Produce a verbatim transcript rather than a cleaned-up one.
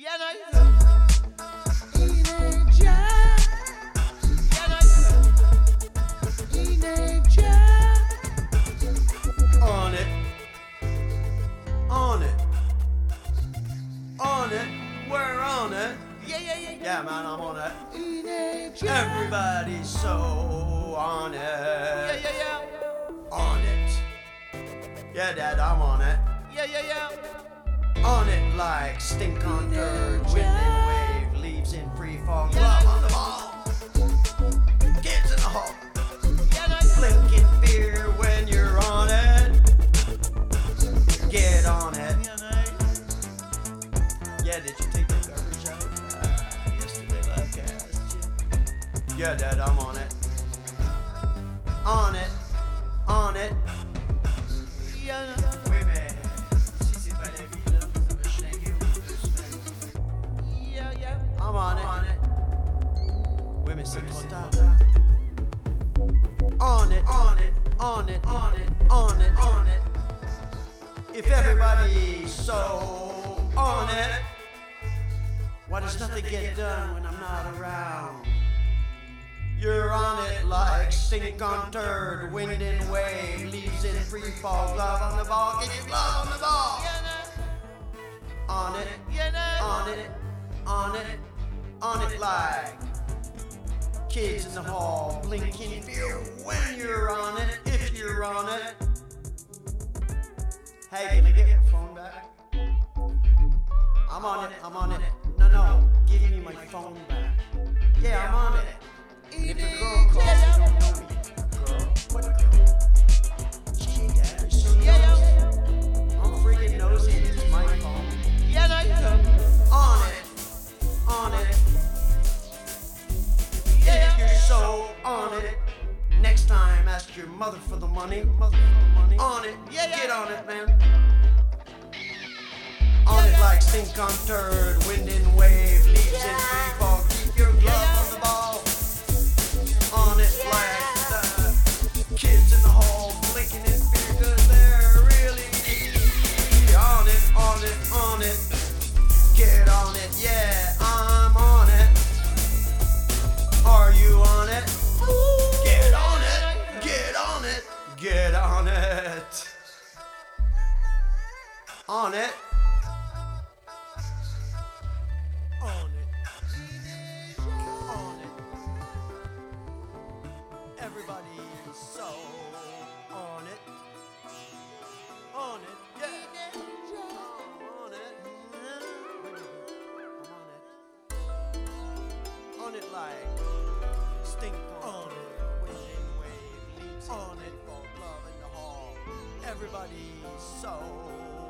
Yeah, no, you know. Teenager. Yeah, no, you know. Teenager. On it. On it. On it. We're on it. Yeah, yeah, yeah. Yeah, man, I'm on it. Teenager. Everybody's so on it. Yeah, yeah, yeah. On it. Yeah, Dad, I'm on it. Yeah, yeah, yeah. On it like stink on dirt, wind and wave, leaves in free fall, Yeah. glove on the ball. Kids in the hall, Yeah, no, you know. blinking fear when you're on it. Get on it. Yeah, no. Yeah, did you take the garbage out? Uh, yesterday, like I asked you. Yeah, Dad, I'm on it. On it. On it. Yeah, no. Oui, mais si c'est pas la vie, là, ça va chinguer au bout de deux semaines. Yeah, yeah. I'm on it. On it. Oui, mais c'est trop tard. On it. On it. On it. On it. On it. On it. If everybody's so on it, why does nothing get done when I'm not around? You're on it like stink on turd, wind and wave, leaves in free fall, glove on the ball, get your glove on the ball. Yeah, no. On it, Yeah, no. on it, on it, on it like kids in the hall, blinking fear when you're on it, if you're on it. Hey, can I get my phone back? I'm on it, I'm on it. No, no, give me my phone back. Yeah, I'm on it. If a girl calls, you don't know me. Girl? What girl? Gee, Dad, you're so Yeah, nosy. yeah. I'm freaking nosy, this is my phone. Yeah, no, you know. On it, on it. Yeah, If you're so on it, next time ask your mother for the money. Mother for the money. On it, Yeah, yeah. get on it, man. On it like stink on turd, wind and wave, leaves in free fall. Keep your glove on the ball. On it like the kids in the hall, blinking in fear 'cause they're really on it, on it, on it. Get on it, yeah, I'm on it. Are you on it? Get on it, get on it, get on it. On it. On it. On it. Everybody's so on it. On it, yeah. On it. I'm on it. On it like stink on it. Wind and wave, leaves on it. Fall glove in the hall. Everybody's so